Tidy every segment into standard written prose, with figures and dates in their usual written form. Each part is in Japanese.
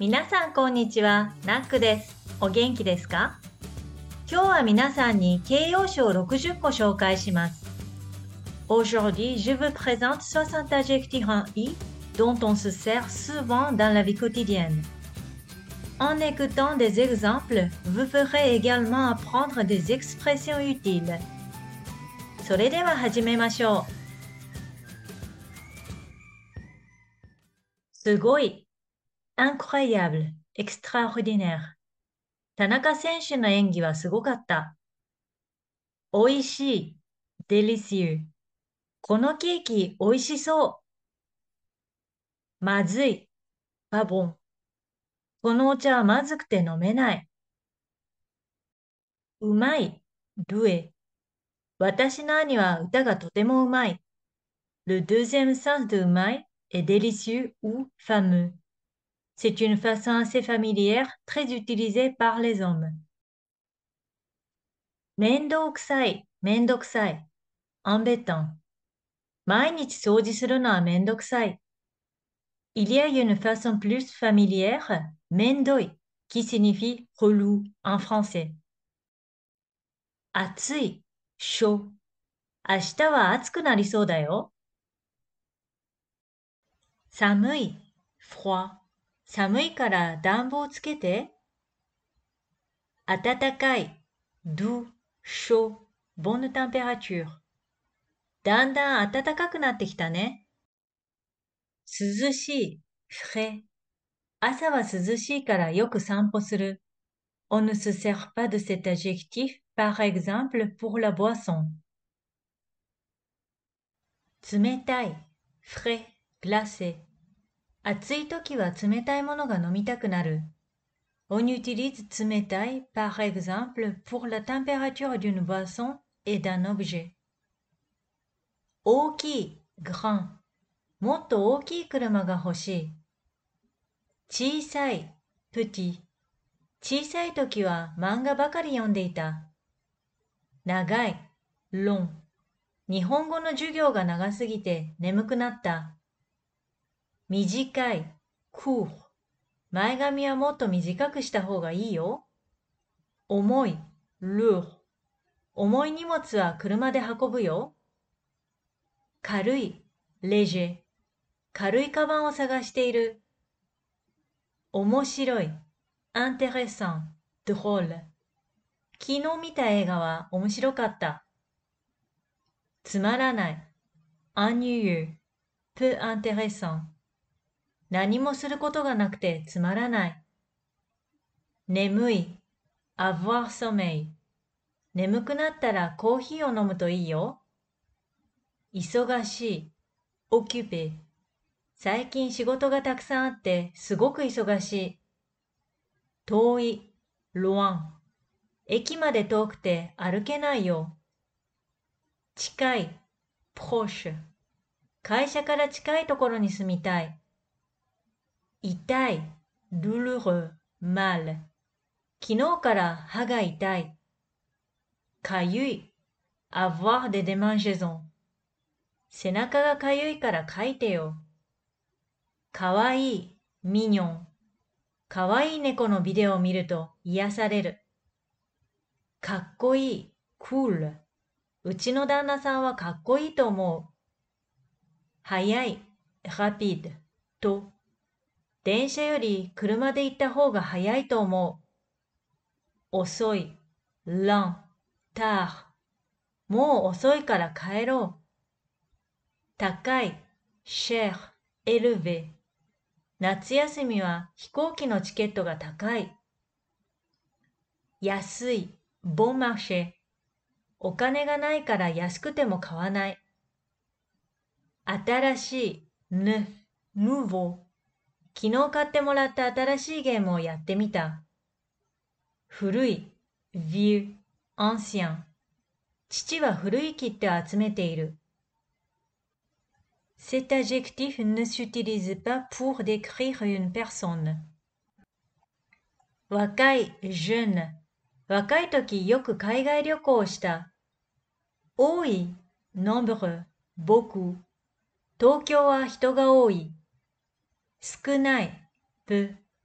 皆さんこんにちは、ナックです。お元気ですか？今日は皆さんに形容詞を60個紹介します。Aujourd'hui, je vous présente 60 adjectifs en i dont on se sert souvent dans la vie quotidienne. En écoutant des exemples, vous pourrez également apprendre des expressions utiles. それでは始めましょう。すごい、incroyable, extraordinaire。田中選手の演技はすごかった。おいしい、délicieux。このケーキおいしそう。まずい、pas bon。このお茶はまずくて飲めない。うまい、doué。私の兄は歌がとてもうまい。Le deuxième sens de うまい est délicieux ou fameux. C'est une façon assez familière, très utilisée par les hommes. めんどくさい、めんどくさい。embêtant。毎日掃除するのはめんどくさい。Il y a une façon plus familière, mendoy, qui signifie relou en français. 暑い、chaud。明日は暑くなりそうだよ。寒い、froid。寒いから暖房つけて。暖かい、doux, chaud, bonne température。だんだん暖かくなってきたね。涼しい、frais。朝は涼しいからよく散歩する。On ne se sert pas de cet adjectif, par exemple, pour la boisson. 冷たい、frais, glacé。暑い時は冷たいものが飲みたくなる。On utilise 冷たい par exemple pour la température d'une boisson et d'un objet. 大きい grand。もっと大きい車が欲しい。小さい petit。小さい時は漫画ばかり読んでいた。長い long。日本語の授業が長すぎて眠くなった。短い court。前髪はもっと短くした方がいいよ。重い lourd。重い荷物は車で運ぶよ。軽い léger。軽いカバンを探している。面白い intéressant, drôle。昨日見た映画は面白かった。つまらない ennuyeux, peu intéressant。何もすることがなくてつまらない。眠い avoir sommeil。眠くなったらコーヒーを飲むといいよ。忙しい occupé。最近仕事がたくさんあってすごく忙しい。遠い loin。駅まで遠くて歩けないよ。近い proche。会社から近いところに住みたい。痛い douloureux, mal。昨日から歯が痛い。かゆい avoir des démangeaisons。背中がかゆいから書いてよ。かわいい mignon。かわいい猫のビデオを見ると癒される。かっこいい cool。うちの旦那さんはかっこいいと思う。早い rapide と、電車より車で行った方が早いと思う。遅い lent, tard。もう遅いから帰ろう。高い cher, élevé。夏休みは飛行機のチケットが高い。安い bon marché。お金がないから安くても買わない。新しい neuf, nouveau。昨日買ってもらった新しいゲームをやってみた。古い vieux, ancien。父は古い切手を集めている。Cet adjectif ne s'utilise pas pour décrire une personne. 若い jeune。若い時よく海外旅行をした。多い nombreux, beaucoup。東京は人が多い。少ない peu。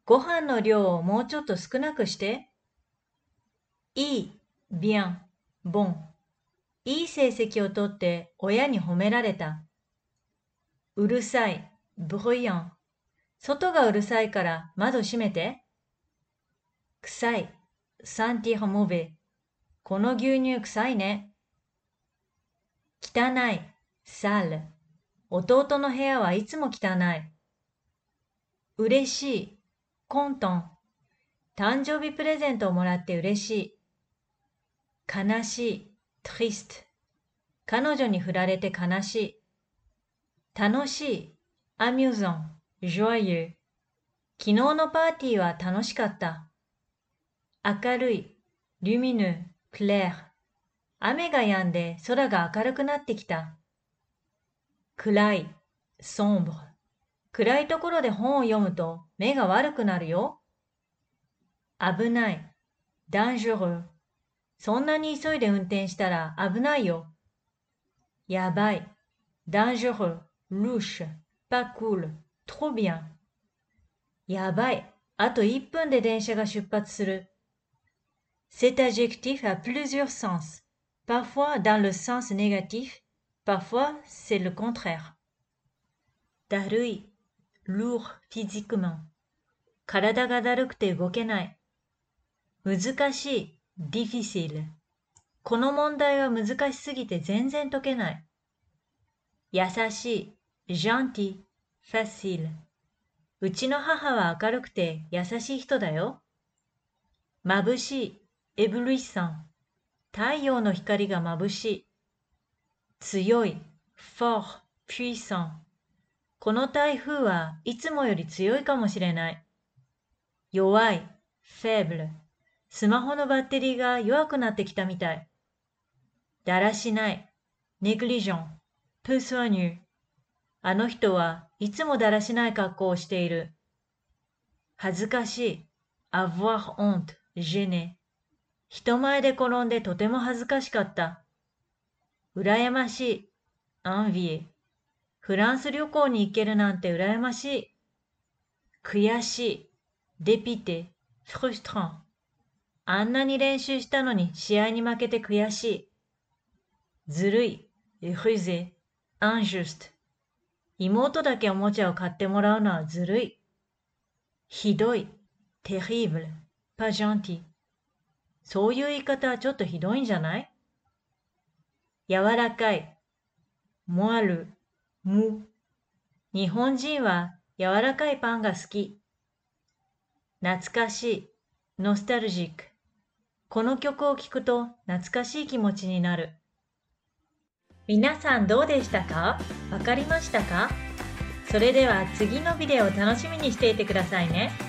ご飯の量をもうちょっと少なくして。いい、bien、bon。いい成績をとって親に褒められた。うるさい、bruyant。外がうるさいから窓閉めて。臭い、sentir mauvais。この牛乳臭いね。汚い、sale。弟の部屋はいつも汚い。嬉しい、content。誕生日プレゼントをもらって嬉しい。悲しい、triste。彼女に振られて悲しい。楽しい、amusant、joyeux。昨日のパーティーは楽しかった。明るい、lumineux、clair。雨が止んで空が明るくなってきた。暗い、sombre。暗いところで本を読むと目が悪くなるよ。危ない、dangereux。そんなに急いで運転したら危ないよ。やばい、dangereux、louche、pas cool、trop bien。やばい、あと1分で電車が出発する。Cet adjectif a plusieurs sens, parfois dans le sens négatif, parfois c'est le contraire. だるい、lourd physiquement。体がだるくて動けない。難しい、difficile。この問題は難しすぎて全然解けない。優しい、gentil、facile。うちの母は明るくて優しい人だよ。眩しい、éblouissant。太陽の光が眩しい。強い、fort、puissant。この台風はいつもより強いかもしれない。弱い、faible。スマホのバッテリーが弱くなってきたみたい。だらしない、négligent、peu soigneux。あの人はいつもだらしない格好をしている。恥ずかしい、avoir honte、gêné。人前で転んでとても恥ずかしかった。羨ましい、envier。フランス旅行に行けるなんて羨ましい。悔しい、dépité、frustrant。あんなに練習したのに試合に負けて悔しい。ずるい、rusé、injuste。妹だけおもちゃを買ってもらうのはずるい。ひどい、terrible、pas gentil。そういう言い方はちょっとひどいんじゃない？柔らかい、moelleux、mou。日本人は柔らかいパンが好き。懐かしい、ノスタルジック。この曲を聴くと懐かしい気持ちになる。皆さんどうでしたか？わかりましたか？それでは次のビデオを楽しみにしていてくださいね。